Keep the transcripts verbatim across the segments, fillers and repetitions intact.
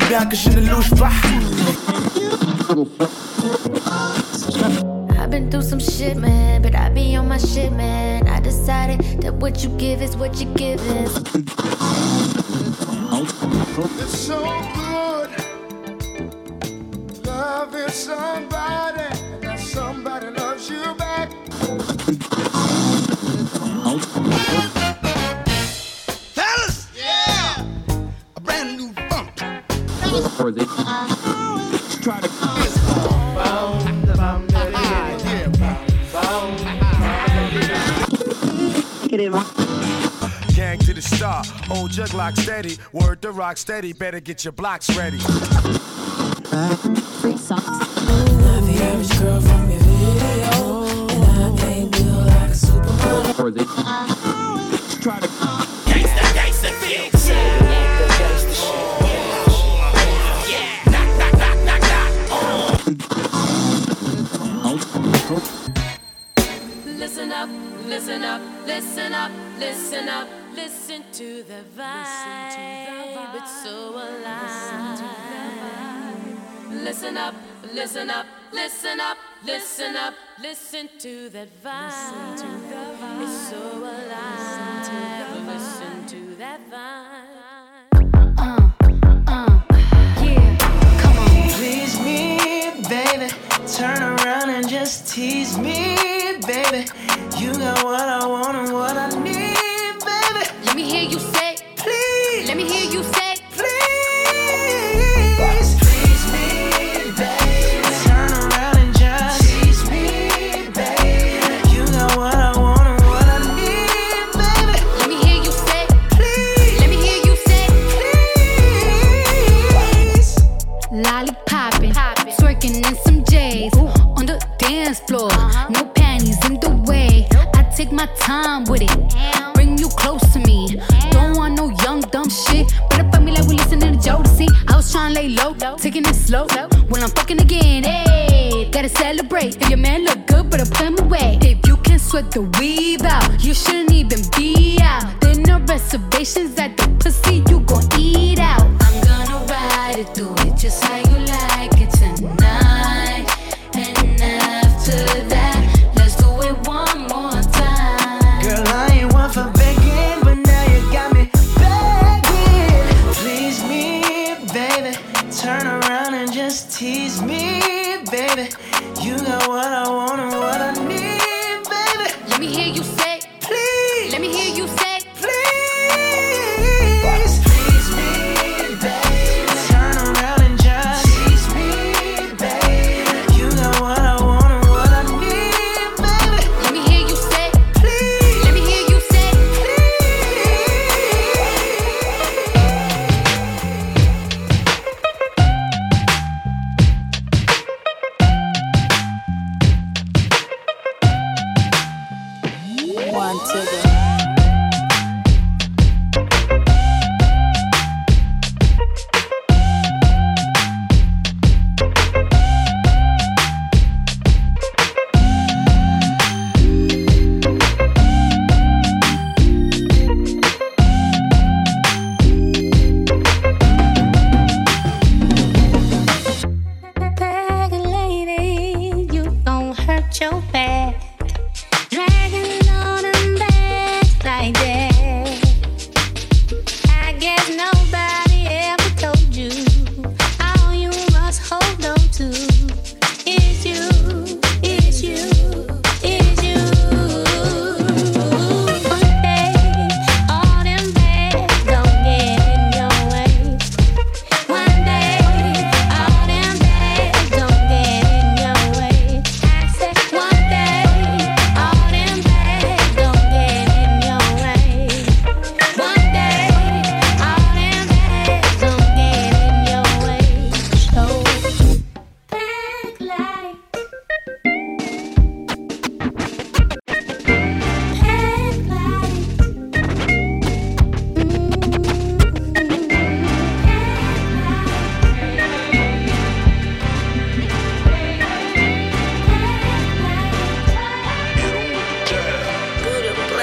bien que je ne louche pas. I've been through some shit, man, but I be on my shit, man. I decided that what you give is what you give is. It's so good loving somebody, and that somebody loves you back. Fellas, yeah, a brand new funk. Try to gang to the star, old jug lock steady, word to rock steady, better get your blocks ready. Free socks. Not the average girl from your video, and I ain't built like a supermodel. Try to Gangsta, gangsta, fix it. Yeah, knock, knock, knock, knock, knock. Listen up, listen up, listen up, listen up, listen to the vibe. It's so alive. Listen up, listen up, listen up, listen up, listen to that vibe. It's so alive. Listen to that vibe. Uh, uh, yeah, come on. Please me, baby. Turn around and just tease me, baby. You got what I want and what I need, baby. Let me hear you say, Please. let me hear you say, Please. Please me, baby. Turn around and just tease me, baby. You got what I want and what I need, baby. let me hear you say, Please. let me hear you say, Please. lollipoppin', twerking in some J's on the dance floor. No panties in the way. I take my time with it. Bring you close to me. Don't want no young dumb shit. Better fuck me like we listening to Jodeci. I was trying to lay low, taking it slow. When I'm fucking again, hey, gotta celebrate. If your man look good, better put him away. If you can sweat the weave out, you shouldn't even be out. There no reservations at the pussy, you gon' eat out. I'm gonna ride it, do it just how you like it tonight. And after that, let's do it one more time. Girl, I ain't one for begging, but now you got me begging. Please me, baby. Turn around and just tease me, baby. You got what I want and what I need, baby. Let me hear you say, Please. let me hear you say, Please. Please me, baby. Turn around and just tease me, baby. You got what I want and what I need, baby. let me hear you say, Please. let me hear you say, One to the Bag lady, you gon' hurt your back. Dragging on and back.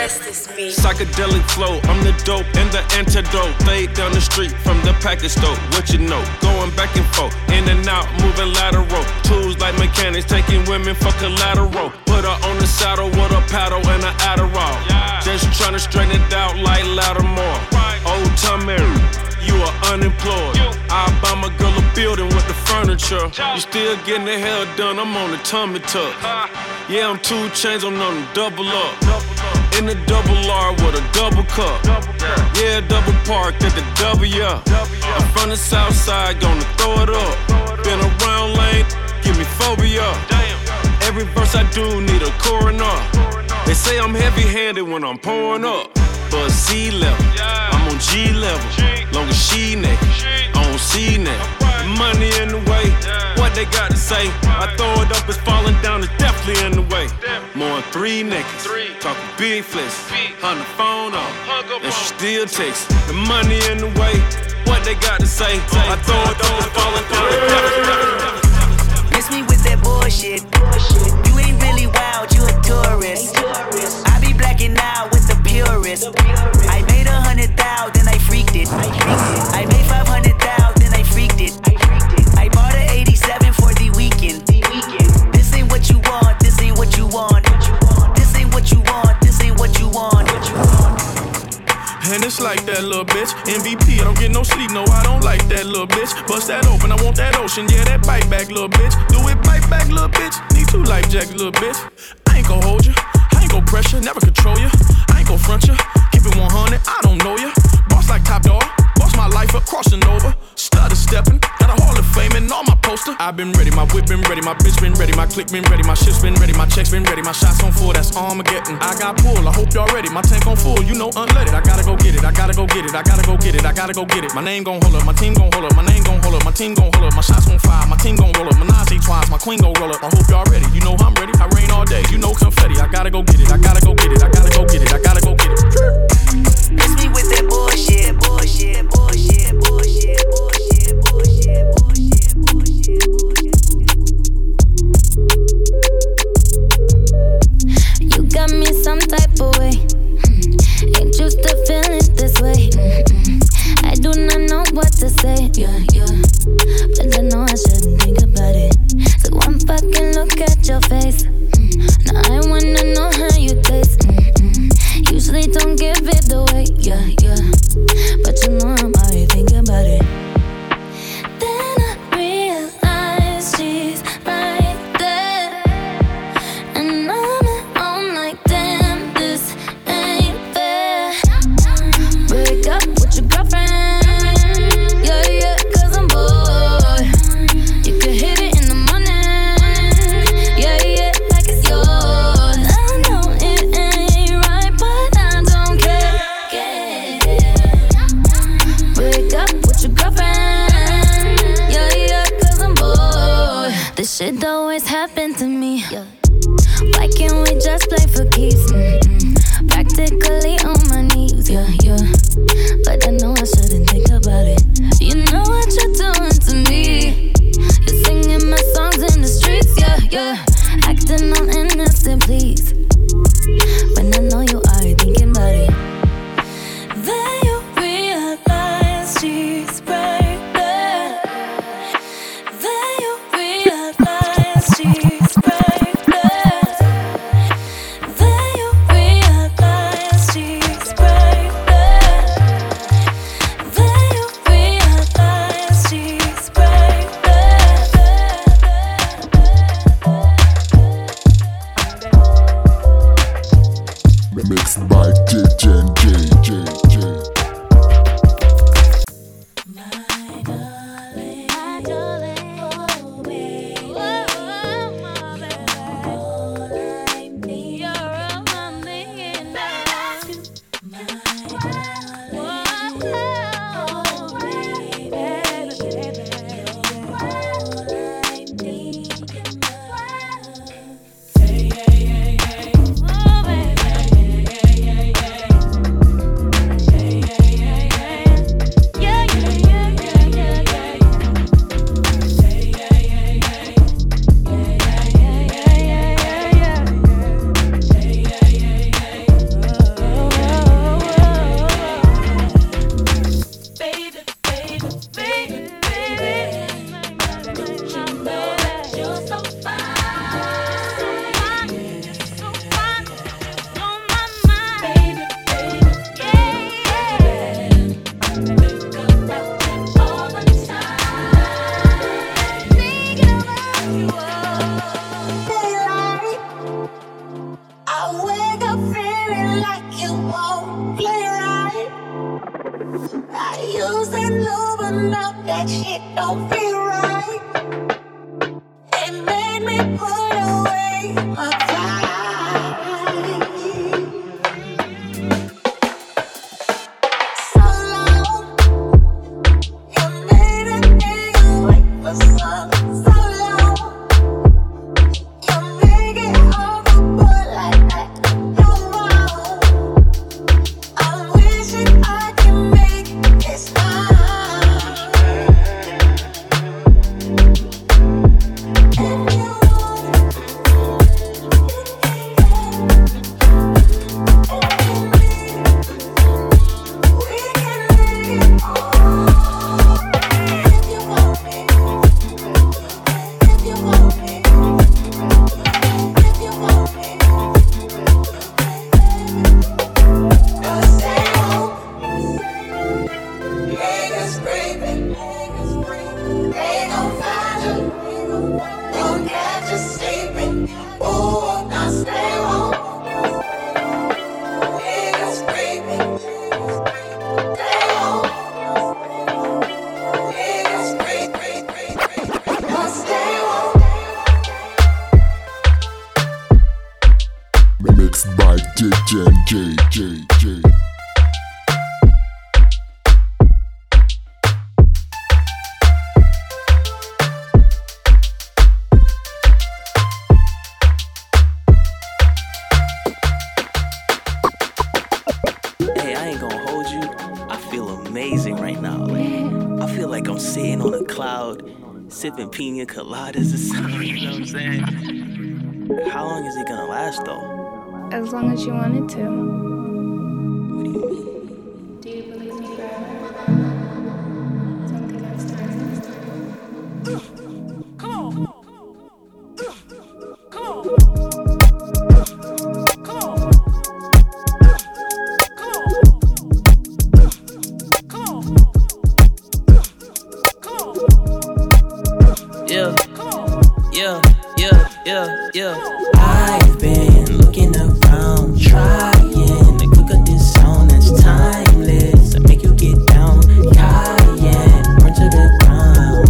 rest is me. Psychedelic flow, I'm the dope and the antidote. Laid down the street from the package store. What you know? Going back and forth, in and out, moving lateral. Tools like mechanics, taking women for collateral. Put her on the saddle with a paddle and an Adderall. Just tryna straighten it out like Lattimore. Old time Mary, you are unemployed. I buy my girl a building with the furniture. You still getting the hell done, I'm on the tummy tuck. Yeah, I'm two chains, I'm on the double up. In the double R with a double cup. Yeah, double park at the W. I'm from the south side, gonna throw it up. Been around lane, give me phobia. Every verse I do need a coroner. They say I'm heavy-handed when I'm pouring up. But C level, I'm on G level. Long as she naked, I don't see naked. Money in the way, what they got to say? I throw it up, it's falling down, it's definitely in the way. More than three niggas, talking big flex. On the phone off, and she still takes the money in the way. What they got to say? I throw it up, it's falling down, it's definitely. Miss me with that bullshit. You ain't really wild, you a tourist. I be blacking out with the purist. I made a hundred thou, then I freaked it. I made five hundred thou, then I freaked it. I bought an eighty-seven for the weekend. This ain't what you want, this ain't what you want. This ain't what you want, this ain't what you want. And it's like that little bitch. M V P, I don't get no sleep, no, I don't like that little bitch. Bust that open, I want that ocean, yeah, that bite back, little bitch. Do it, bite back, little bitch. Need two life jackets, little bitch. I ain't gon' hold you, I ain't gon' pressure, never control you. I ain't gon' front you, keep it one hundred, I don't know you. Boss like Top Dog, boss my life up, crossing over. Stutter stepping, got a Hall of Fame and all my poster. I've been ready, my whip been ready, my bitch been ready, my click been ready, my shit's been ready, my checks been ready, my shots on full, that's Armageddon. I got pull, I hope y'all ready, my tank on full, you know unleaded. I gotta go get it, I gotta go get it, I gotta go get it, I gotta go get it. My name gon' hold up, my team gon' hold up, my name gon' hold up, my team gon' hold up, my shots gon' fire, my team gon' roll up, Menage twice, my queen gon' roll up. I hope y'all ready, you know I'm ready, I rain all day, you know confetti. I gotta go get it, I gotta go get it, I gotta go get it, I gotta go get it. Miss me with that bullshit, bullshit, bullshit, bullshit, bullshit, bullshit, bullshit, bullshit, bullshit. You got me some type of way. Mm. Ain't used to feeling this way. Mm-mm. I do not know what to say. Yeah, yeah. But I know I shouldn't think about it. So one fucking look at your face. Mm. Now I wanna know how you taste. Mm-mm. Usually don't give it away. Yeah, yeah. But you know I'm already thinking about it. Then I realize she's right there. And I'm at home like, damn, this ain't fair. Break up with your girlfriend. Yeah, yeah, cause I'm bored. You can hit it in the morning. Yeah, yeah, like it's yours. I know it ain't right, but I don't care. Yeah. Break up with your girlfriend. Yeah, yeah, cause I'm bored. This shit always happen to me. Yeah. Why can't we just play for keeps? Mm-mm. Practically on my knees, yeah, yeah. But I know I shouldn't think about it. You know what you're doing to me. You're singing my songs in the streets, yeah, yeah. Acting all innocent, please. When I know you are thinking about it. Then you realize she's right there. Then you realize she's right there. Then you realize she's right there. Then you realize she's right there. Mixed by J J and J J J. My darling, my darling, oh baby, oh my baby, all I need, you're all I'm thinking about. My darling, oh baby, you're all I need in my life. Hey, hey, hey, hey, oh baby, hey, hey, hey, hey, hey. feeling like you won't play right. I use that lube, but now that shit don't feel right. It made me put away my pride. So long, you made a nigga wait for some. So long, you make it horrible like that. No more. I'm wishing I can make this mine. If you Mixed by D J J J J. Hey, I ain't gonna hold you. I feel amazing right now. Like, I feel like I'm sitting on a cloud, sipping pina coladas or something. You know what I'm saying? How long is it gonna last though? As long as you want it to. What do you mean? Do you believe me forever? Don't think that's time. come on. Come on. Yeah, yeah, yeah, yeah, yeah. I've been looking around, trying to cook up this sound that's timeless and make you get down, Cayenne, burn to the ground.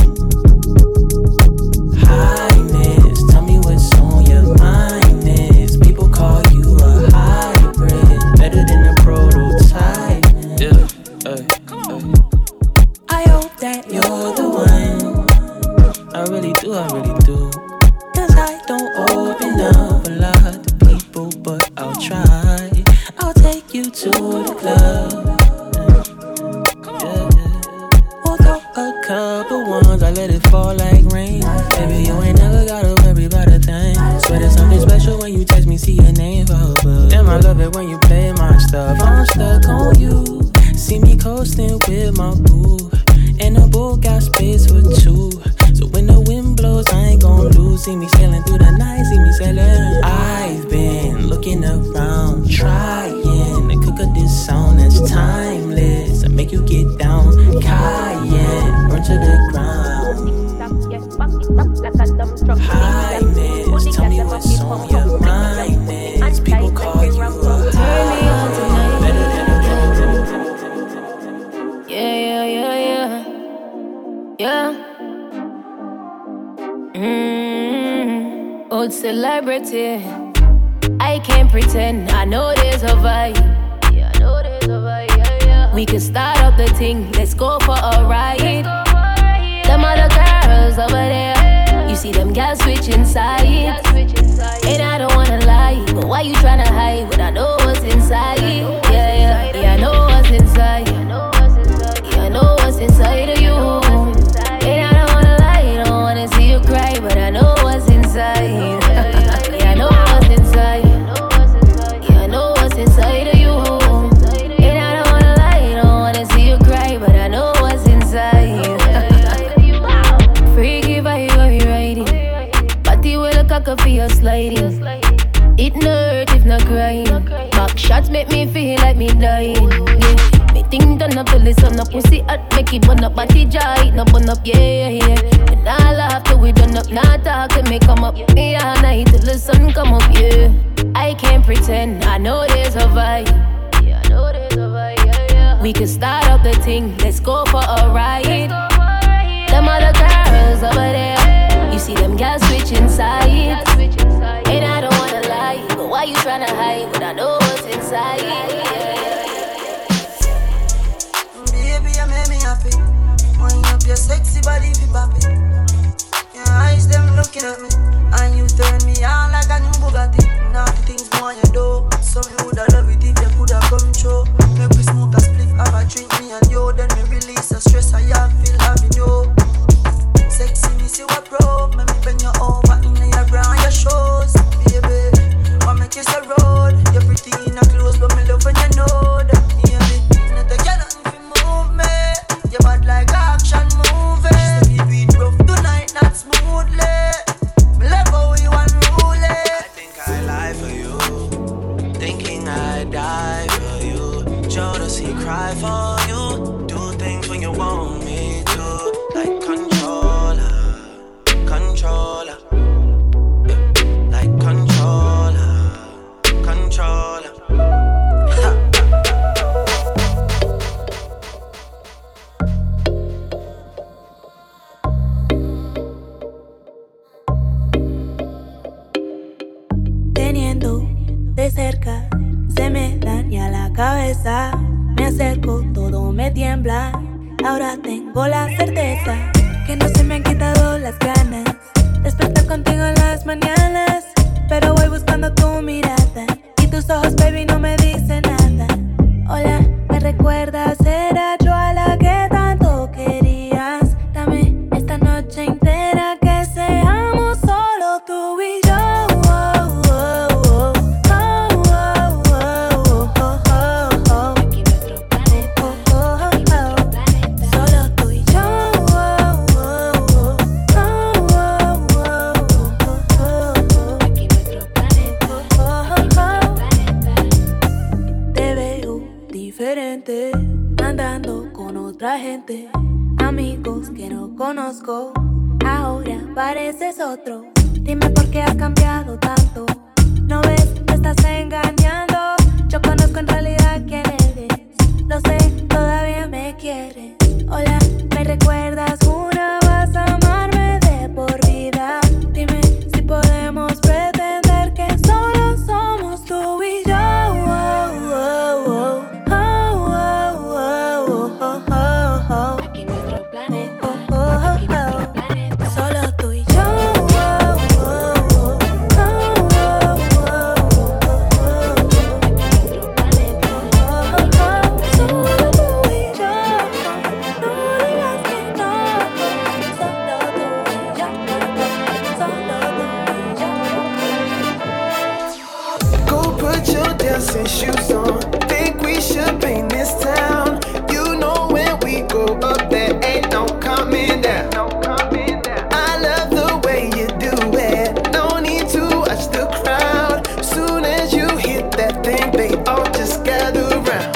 Highness, tell me what's on your mind is. People call you a hybrid, better than a prototype. Yeah, hey, hey. I hope that you're the one. I really do, I really do. Cause I don't open up a lot to people, but I'll try. I'll take you to the club. Yeah, yeah. We'll throw a couple ones, I let it fall like rain. Baby, you ain't never gotta worry about a thing. Swear there's something special when you text me, see your name pop up. Damn, I love it when you play my stuff. I'm stuck on you. See me coasting with my boo. And the boat got space for two. So when the wind blows, I ain't gon' lose. See me sailing through the night, see me sailing. I've been looking around, trying to cook up this sound that's timeless and make you get down, Cayenne, burn to the ground. Highness, tell me what's on your mind is. People call you a high. Better than a Yeah, yeah, yeah, yeah. Yeah. Mm-hmm. Old celebrity. I can't pretend. I know there's a vibe. Yeah, I know there's a vibe. Yeah, yeah. We can start up the thing. Let's go for a ride. Them other girls over there. You see them girls switching sides. And I don't wanna lie, but why you tryna hide when I know what's inside? Yeah, yeah, yeah, I know what's inside. Yeah, I know what's inside of you. And I don't wanna lie, don't wanna see you cry, but I know what's inside. Yeah, I know what's inside. Yeah, I know what's inside of you. And I don't wanna lie, don't wanna see you cry, but I know what's inside. Freaky vibe, are you riding? Body will look like a feel sliding. It no hurt if not crying. Back shots make me feel like me dying. Yeah. Me Everything done up till the sun up. Pussy hot, make it burn up. Body dry, no burn up, yeah, yeah. And I laugh till we done up. Nah talk till me come up. Yeah, night till the sun come up, yeah. I can't pretend, I know there's a vibe. Yeah, I know there's a vibe, yeah, yeah. We can start up the thing, let's go for a ride. Them other girls over there, you see them girls switching sides. And I don't wanna lie, but why you tryna hide? But I know what's inside, yeah. Baby, you make me happy. Wind up your sexy body, fi pop it. Your eyes, them looking at me. And you turn me on like a new Bugatti. Naughty things more you do. Some you woulda love it if you coulda come true. Make we smoke a spliff, have a drink, me and you. Then we release the stress I have, feel having you. Sexy, me see what broke. Make me bend you over in your ground, your shoes. Baby, I make you say road. You're pretty in a clothes, but me love when you know that. Baby, not to get nothing fi move me. You bad like action movie. Just to keep it rough tonight, not smoothly. Me love how you unruly. I think I lie for you, thinking I die for you. Jealousy cry for you. Do things when you want me to, like controller, controller, yeah. Like controller, controller. Teniendo de cerca, se me daña la cabeza. Me acerco, todo me tiembla. Ahora tengo la certeza que no se me han quitado las ganas. Despertar contigo en las mañanas, pero voy buscando tu mirada. Y tus ojos, baby, no me dicen nada. Hola, ¿me recuerdas? Era yo a la que tanto querías. Dame esta noche entera que seamos solo tú y yo. Andando con otra gente, amigos que no conozco. Ahora pareces otro. Dime por qué has cambiado tanto. No ves, me estás engañando. Yo conozco en realidad quién eres. Lo sé, todavía me quieres. Hola, ¿me recuerdas? Una vas a amarme de por vida. Dime si podemos pretender que solo somos tú y yo. Oh, oh, oh. Aquí nuestro planeta, aquí nuestro planeta, solo tú y yo. Go put your dancing shoes on. Think we should paint this town. You know when we go up there ain't no coming down. I love the way you do it. No need to watch the crowd. Soon as you hit that thing, they all just gather around.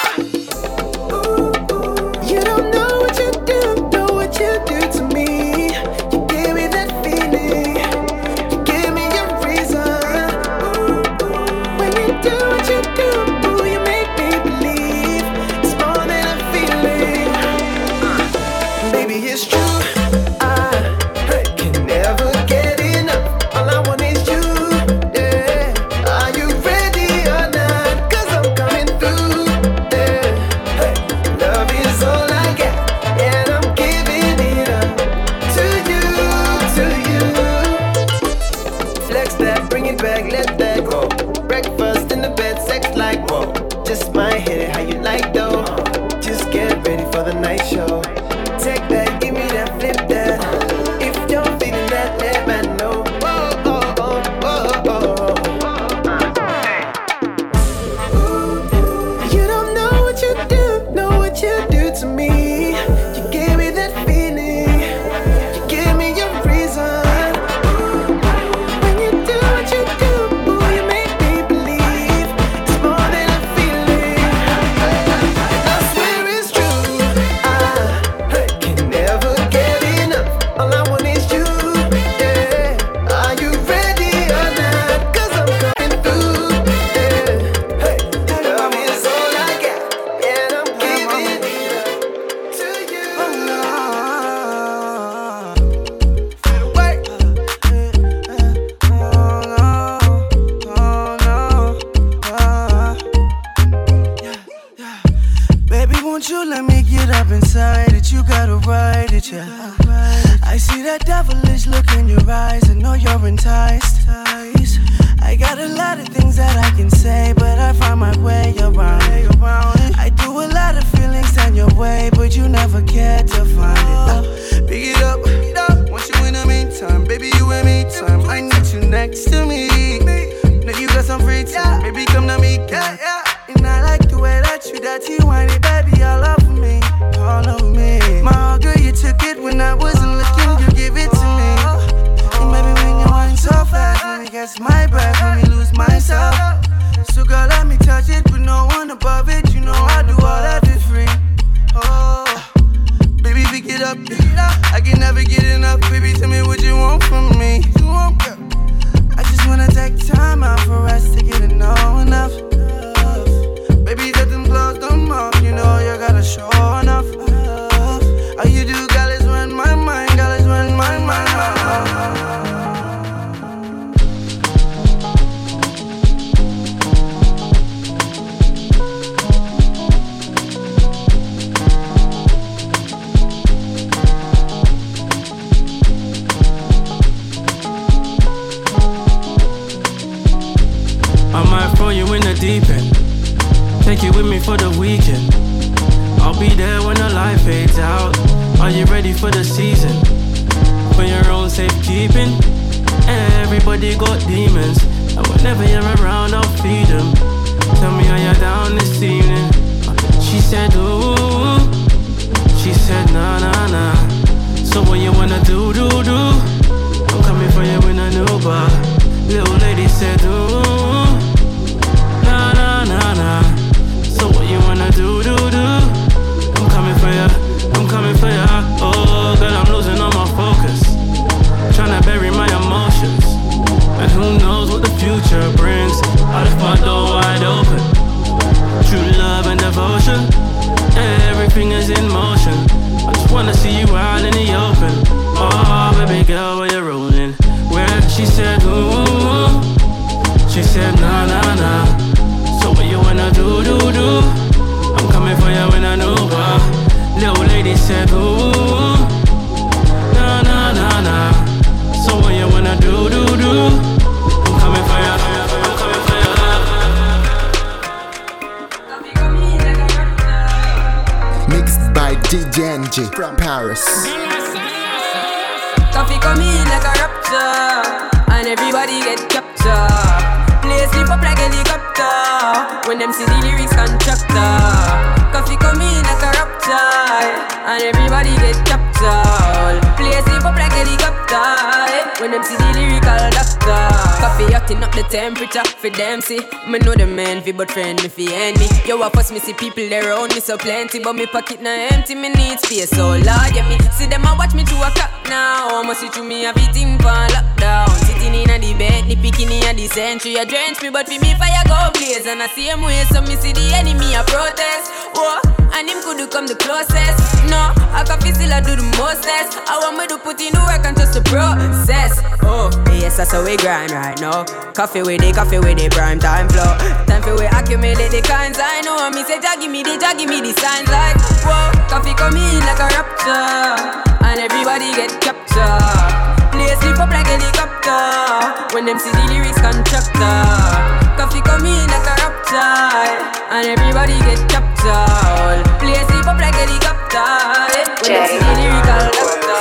You don't know what you do, know what you do to me. You give me that feeling, you give me your reason. When you do what you do, ooh, you make me believe it's more than a feeling. Baby, it's true. I can never get enough. All I want is you. Yeah. Are you ready or not? Cause I'm coming through. Yeah. Love is all I got, and I'm giving it up to you, to you. Flex that, bring it back, let that go. Breakfast in the bed, sex like whoa. Just might hit it how you like though. Just get ready for the night show. Take that, give me that, flip that. If you're feeling that, let me know. Oh, oh, oh, oh, oh. You don't know what you do, know what you do to me. You give me that feeling, you give me your reason. When you do what you do, ooh, you make me believe it's more than a feeling. Won't you let me get up inside it? You gotta ride it, yeah. I see that devilish look in your eyes. I know you're enticed. I got a lot of things that I can say, but I find my way around it. I do a lot of feelings down your way, but you never cared to find it. Uh, pick it up, pick it up. Want you in the meantime, baby, you in me time. I need you next to me. Now you got some free time, baby, come to me, yeah, yeah. And I like the way that you dirty whiny, baby, all over me, all over me. My girl, you took it when I wasn't looking, you give it to me. And baby, when you whine so fast, let me catch my breath, let me lose myself. So girl, let me touch it, but no one above it. You know I do all that for free. Oh, baby, pick it up, yeah. I can never get enough, baby, tell me what you want from me. You want, girl? I just wanna take time out for us to get to know enough. Baby, got them clothes, them off. You know you gotta show enough. All you do, girl, is run my mind. Girl, is run my mind. I might throw you in the deep end, take you with me for the weekend. I'll be there when the light fades out. Are you ready for the season? For your own safekeeping. Everybody got demons, and whenever you're around, I'll feed them. Tell me how you're down this evening. She said, ooh. She said, nah, nah, nah. So what you wanna do, do, do? I'm coming for you in a new bar. Little lady said, ooh. Nah, nah, nah, nah. So what you wanna do, do, do? I'm coming for ya, I'm coming for ya. Oh, girl, I'm losing all my focus, tryna bury my emotions. And who knows what the future brings. I left my door wide open. True love and devotion, everything is in motion. I just wanna see you out in the open. Oh, baby girl, where you rolling? Where she said, ooh. She said, nah, nah, nah. So what you wanna do, do, do? I'm coming for you in a new bar. Little lady said, ooh. Nah, nah, nah, nah. So what you wanna do, do, do? I'm coming for you, I'm coming for you. Mixed by D J N J from Paris. Coffee come in like a rapture, and everybody get captured. Play sleep up like a helicopter, when them see the lyrics constructor. Coffee come in like a rapture, and everybody get captured. Play sleep up like a helicopter, when them see the lyrical doctor. Coffee hotting up the temperature for them see. Me know the man fi but friend me fi enemy. Yo, I first me see people there around me so plenty, but me pocket na empty, me need space so large. Yeah, me see them a watch me to a clock now. I'ma see through me a beating for lockdown. Sitting in a the bed, the picking in the century. A drench me, but for me fire go blaze. And I see him way, so me see the enemy a protest. Whoa, and him could do come the closest. No, I can feel still I do the mostest. I want me to put in the work and trust the process. Oh, yes, that's how we grind right now. Coffee with the coffee with the prime time flow. Time for we accumulate the kinds I know. Me say, Jah give me the, Jah give me the signs like whoa, coffee come in like a rapture, and everybody get captured. Play sleep up like a helicopter, when them see the lyrics constructor. Coffee come in like a rapture, and everybody get captured. Play sleep up like a helicopter, when them see the lyrical doctor.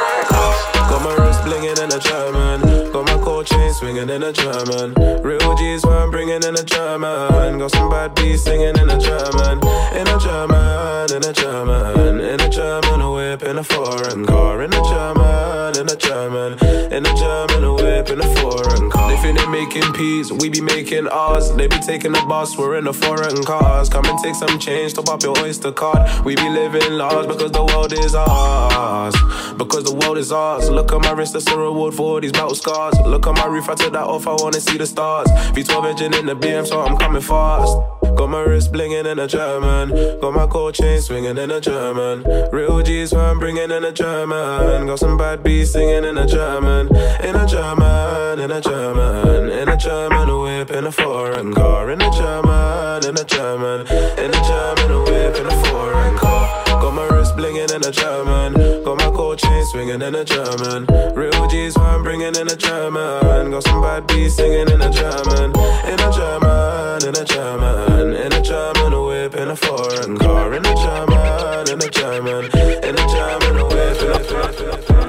Got my wrist blingin' in a German, got my cold chain swinging in a German. Real G's what I'm bringing in a German. Got some bad beats singing in a German, in a German, in a German, in a German, a whip in a foreign car, in a German, in a German, in a German, a whip in a foreign car. They think they making peas, we be making ours. They be taking the bus, we're in the foreign cars. Come and take some change, top up your Oyster card. We be living large because the world is ours, because the world is ours. Look at my wrist, that's a reward for all these battle scars. Look at my roof, I took that off, I wanna see the stars. V twelve engine in the B M, so I'm coming fast. Got my wrist blingin' in a German, got my cold chain swinging in a German. Real G's what I'm bringing in a German. Got some bad beats singing in a German, in a German, in a German, in a German, a whip in a foreign car, in a German, in a German, in a German, a whip in a foreign swinging in a German. Real G's why I'm bringing in a German. Got some bad beats singing in a German. In a German, in a German. In a German, a whip in a foreign car. In a German, in a German. In a German, a whip in a foreign car.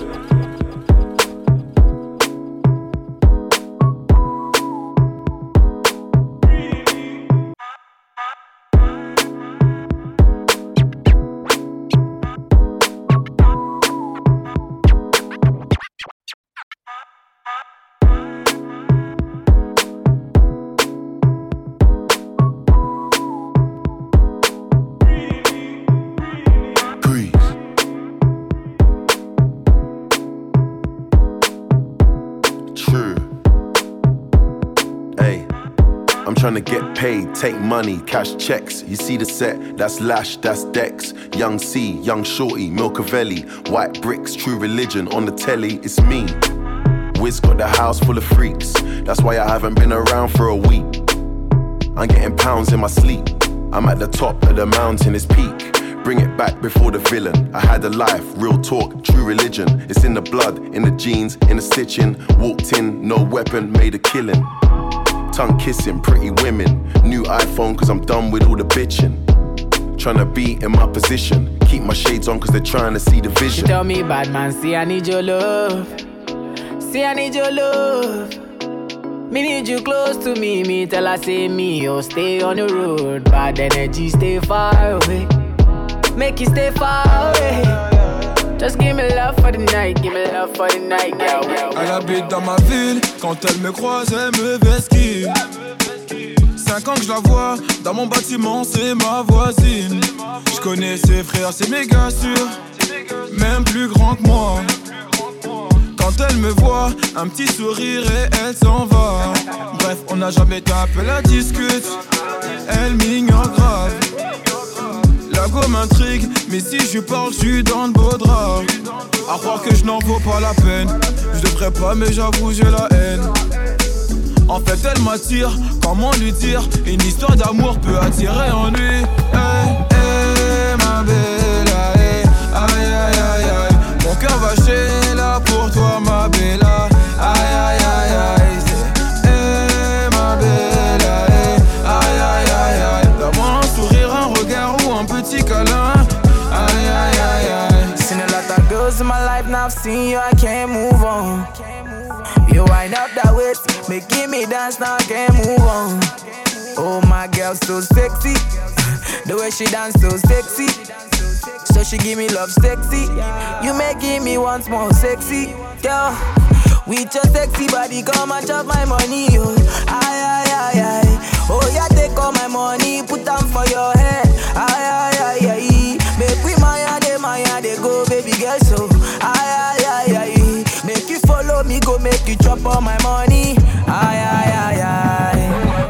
Trying to get paid, take money, cash checks. You see the set, that's Lash, that's Dex. Young C, Young Shorty, Milcavelli. White bricks, True Religion on the telly, it's me. Wiz got the house full of freaks. That's why I haven't been around for a week. I'm getting pounds in my sleep. I'm at the top of the mountain, it's peak. Bring it back before the villain. I had a life, real talk, true religion. It's in the blood, in the jeans, in the stitching. Walked in, no weapon, made a killing. Tongue kissing, pretty women. New iPhone cause I'm done with all the bitching. Tryna be in my position. Keep my shades on cause they're trying to see the vision. She tell me, bad man, see I need your love. See I need your love. Me need you close to me. Me tell her say me, oh stay on the road. Bad energy stay far away. Make you stay far away. Just give me love for the night, give me love for the night, girl. Elle habite dans ma ville, quand elle me croise, elle me vesquille. Cinq ans que je la vois, dans mon bâtiment, c'est ma voisine. Je connais ses frères, c'est méga sûr, même plus grand que moi. Quand elle me voit, un petit sourire et elle s'en va. Bref, on n'a jamais tapé la discute, elle m'ignore grave. La go m'intrigue, mais si je parle, je suis dans le beau drap. À croire que je n'en vaux pas la peine. Je devrais pas, mais j'avoue, j'ai la haine. En fait, elle m'attire, comment lui dire? Une histoire d'amour peut attirer en lui. Hey, hey, ma bella, hey, aïe, aïe, aïe, aïe. Mon cœur va chez là pour toi, ma bella. Aïe, aïe, aïe, aïe. Hey, ma bella, hey, aïe, aïe, aïe, aïe. Donne-moi un sourire, un regard ou un petit câlin. Aïe, aïe, aïe, aïe. Seen a lot of girls in my life, now I've seen you, I can't move on. You wind up that waist, making me dance, now I can't move on. Oh, my girl, so sexy. The way she dance, so sexy. So she give me love sexy. You making me once more sexy. Girl, with your sexy body, come and chop my money. Oh, aye, aye, aye, aye. Oh, yeah, take all my money, put them for your head. Aye, aye, aye, aye. Make we maya, de maya, de go, baby girl, so. Aye, aye, aye, aye. Make you follow me, go make you chop all my money. Aye, aye, aye, aye.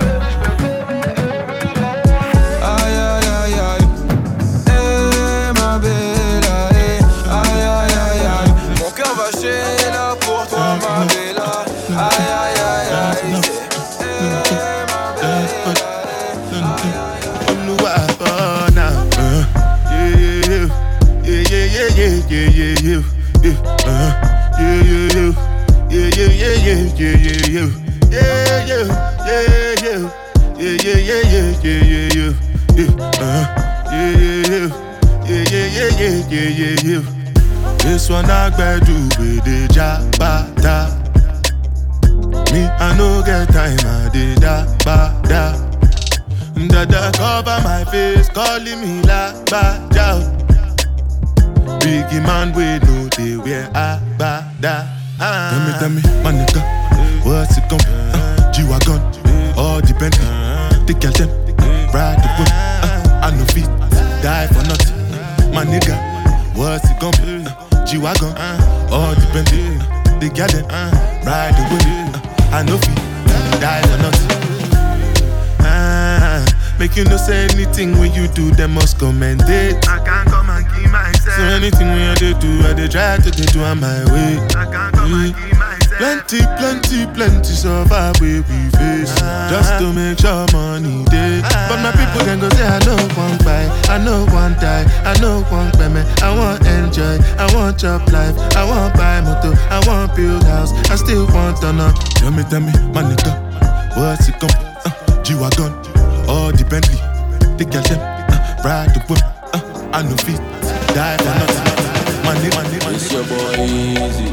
Aïe, aïe, aïe, aïe. Eh, ma bella, eh. Aïe, aïe, aïe, aïe. Mon cœur va chez là pour toi, ma bella. Aïe, aïe, aïe, aïe. Eh, ma bella, eh. I'm the wild boy now. Uh, yeah, yeah, yeah, yeah, yeah, yeah, yeah, yeah, yeah. Uh, yeah, yeah, yeah. Yeah, yeah, yeah, yeah, yeah, yeah, yeah. Yeah, yeah, yeah, yeah. Yeah, yeah, yeah, yeah, yeah, yeah, yeah. Yeah, uh, yeah, yeah, yeah, yeah, yeah, yeah, yeah, yeah, yeah. This one I do with the jabata. Me, I no get time, I did da ba da. Dada cover my face, calling me la ba da. Biggie man, we know they wear a ba da. Tell me, tell me, my nigga, what's it gon' be? Uh, G-Wagon, all the Bentley, the girl them, ride the whip. Uh, I no fit, die for nothing. My nigga, what's it gon' be? Uh, G-Wagon, all the Bentley, the girl them, ride the whip. Uh, I no fit, die for nothing. Uh, make you no say anything when you do, they must commendate. I can't come and keep myself. So anything when I do, I they try to do on my way. I can't come and keep myself. Plenty, plenty, plenty survive where we face. Uh, just to make sure money day. Uh, but my people can go say I don't want buy. I know one die, I know one payment. I want enjoy, I want job life, I want buy motor, I want build house, I still want to know. Tell me, tell me, my nigga, what's it come? Uh, G-Wagon, all the Bentley, the girl them, uh, ride the whip, uh, I know feet, die for nothing. Money, money, money. It's your boy Easy,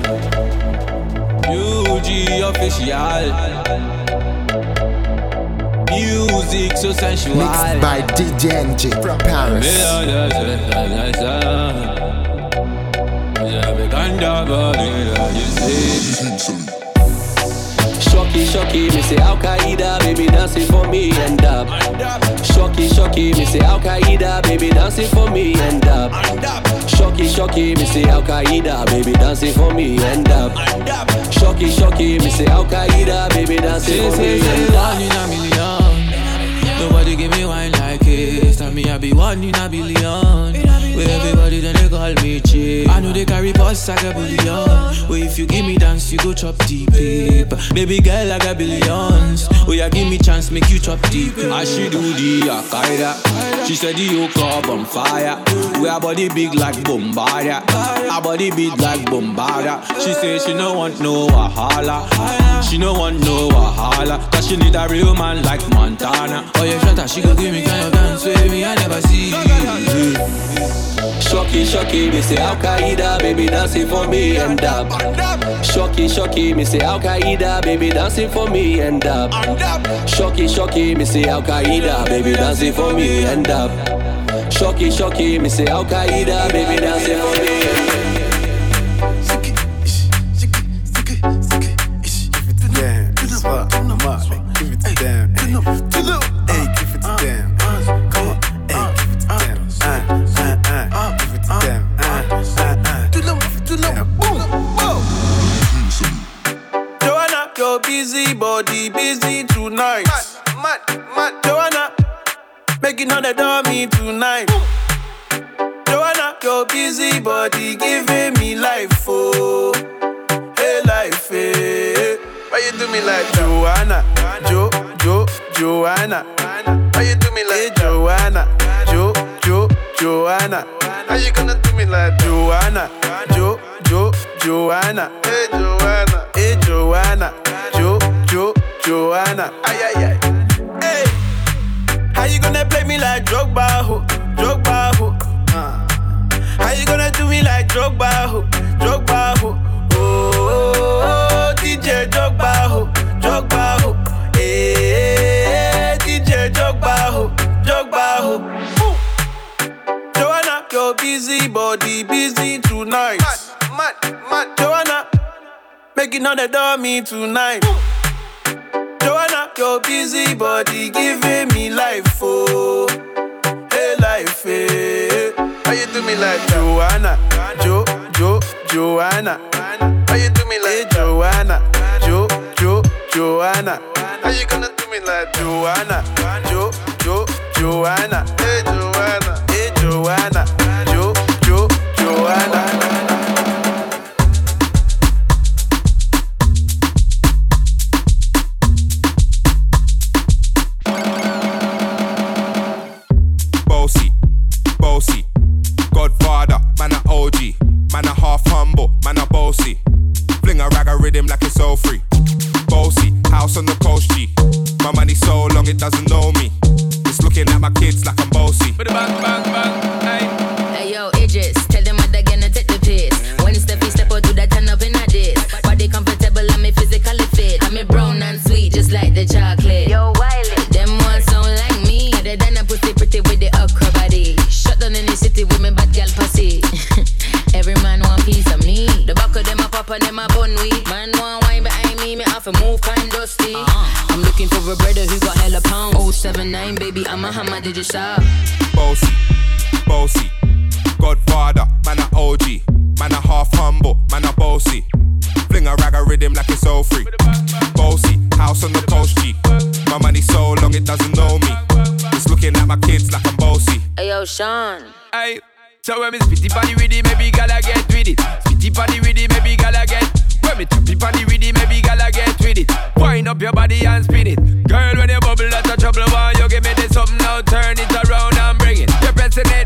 U G official. Music so sensual. Mixed by D J N G from Paris. Shocky, shocky, me say Al Qaeda, baby dancing for me and up. Shocky, shocky, me say Al Qaeda, baby dancing for me and up. Shocky, shocky, me say Al Qaeda, baby dancing for me and up. Shocky, shocky, me say Al Qaeda, baby dancing for me and up. Nobody give me wine like it. Tell me I be one in a billion. Where everybody then they call me cheap. I know they carry boss like a billion. Where if you give me dance, you go chop deep. Baby girl like a billions. Oh yeah, give me chance, make you chop deep. I she do the Al-Qaeda. She said the yoke up on fire. We her body big like Bombardier. Her body big like Bombardier. She say she no want no Wahala. She no want no Wahala. Cause she need a real man like Montana. Oh yeah, shut up, she gon' give me kind of dance with me, I never see. Shocky, shocky, me say Al Qaeda, baby dancing for me and up. Shocky, shocky, me say Al Qaeda, baby dancing for me and up. Shocky, shocky, me say Al Qaeda, baby dancing for me and up. Shocky, shocky, me say Al Qaeda, baby dancing for me and up. Busy body, busy tonight. Mad, mad, mad. Joanna, making all the dummy tonight. Ooh. Joanna, your busy body giving me life, oh, hey life, hey. Why you do me like Joanna, Jo, Jo, Joanna? Why you do me like hey, Joanna, Jo, Jo, Joanna? How you gonna do me like Joanna, Jo, Jo, Joanna? Hey Joanna, hey Joanna. Jo, Jo, Joanna, ay, ay, ay. Hey, how you gonna play me like Drogba, ho, Drogba, ho? Uh. How you gonna do me like Drogba, ho, Drogba, ho? Oh, oh, oh, D J Drogba, ho, Drogba, ho. Hey, D J Drogba, ho, Drogba, ho. Ooh. Joanna, your busy body, busy tonight. Mad, mad, mad. Joanna, making all the dummy tonight. Ooh. Joanna, your busy body giving me life, oh, hey life, hey. How you do me like Joanna, Jo, Jo, Joanna? How you do me like hey, Joanna, Jo, Jo, Joanna? How you gonna do me like Joanna, Jo, Jo, Joanna? Hey Joanna, hey Joanna, Jo, Jo, Joanna. Godfather, man a O G, man a half humble, man a bossy. Fling a rag a rhythm like it's all free. Bossy, house on the coast G. My money so long it doesn't know me. It's looking at my kids like I'm bossy. Bang, bang, bang, hey. Hey yo, Idris, tell them what they're gonna take the piss. When Steffi step out, do that turn up in a diss. Body comfortable, I'm a physically fit. I'm a brown and sweet, just like the chocolate. Yo, Wiley, them ones sound like me. Other than a pussy pretty with the okra body. Shut down in the city with me bad girl pussy. Every man want piece of me. The back of them a pop and them a bun weed. Man want wine behind me, me have to move kind dusty. Uh-huh. I'm looking for a brother who got hella pounds. oh seven nine, baby, I'm a hammer, did you stop? Bossy, bossy. Godfather, man a O G. Man a half humble, man a bossy. Fling a rag a rhythm like it's all free. Bossy, house on the coast G. My money so long it doesn't know me. It's looking at my kids like I'm bossy. Hey yo, Sean. Hey, so when me spitty body with it, maybe gala get with it. Spitty body with it, maybe gala get. When me tappy body with it, maybe gala get with it. Wind up your body and spin it. Girl, when you bubble, that's a trouble. Why you give me this something now? Turn it around and bring it. You're pressing it.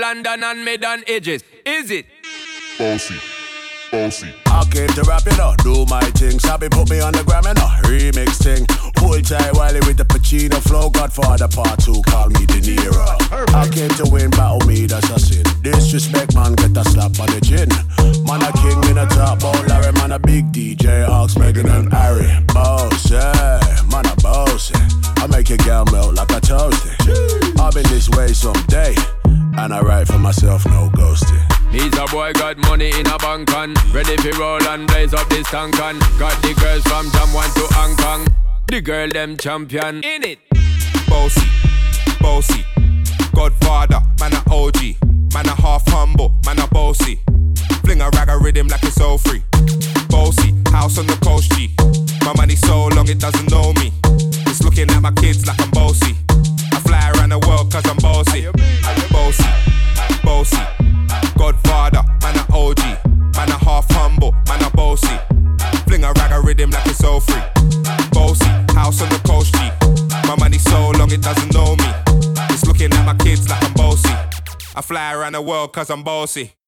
London and mid on edges. Is it? Bossy, bossy. I came to rap it up, do my thing. Sabi put me on the gram and a remix thing. Hold tight Wiley with the Pacino flow. Godfather part two, call me De Niro. I came to win, battle me, that's a sin. Disrespect, man, get a slap on the chin. Man a king in a top, oh Larry, man a big D J, Ox, Megan and Harry. Boss, yeah, man a boss. I make your girl melt like a toasty. I've been this way someday, and I write for myself, no ghosting. Needs a boy got money in a bank on. Ready for roll and blaze up this tank on. Got the girls from Jamwan to Hong Kong. The girl them champion. In it. Bossy, bossy. Godfather, man a O G. Man a half humble, man a bossy. Fling a rag a rhythm like it's all free. Bossy, house on the coast G. My money so long it doesn't know me. It's looking at my kids like I'm bossy. I fly around the world cause I'm bossy. Bossy, bossy. Godfather, man a O G. Man a half humble, man a bossy. Fling a rag a rhythm like it's all free. Bossy, house on the coast G. My money so long it doesn't know me. It's looking at my kids like I'm bossy. I fly around the world cause I'm bossy.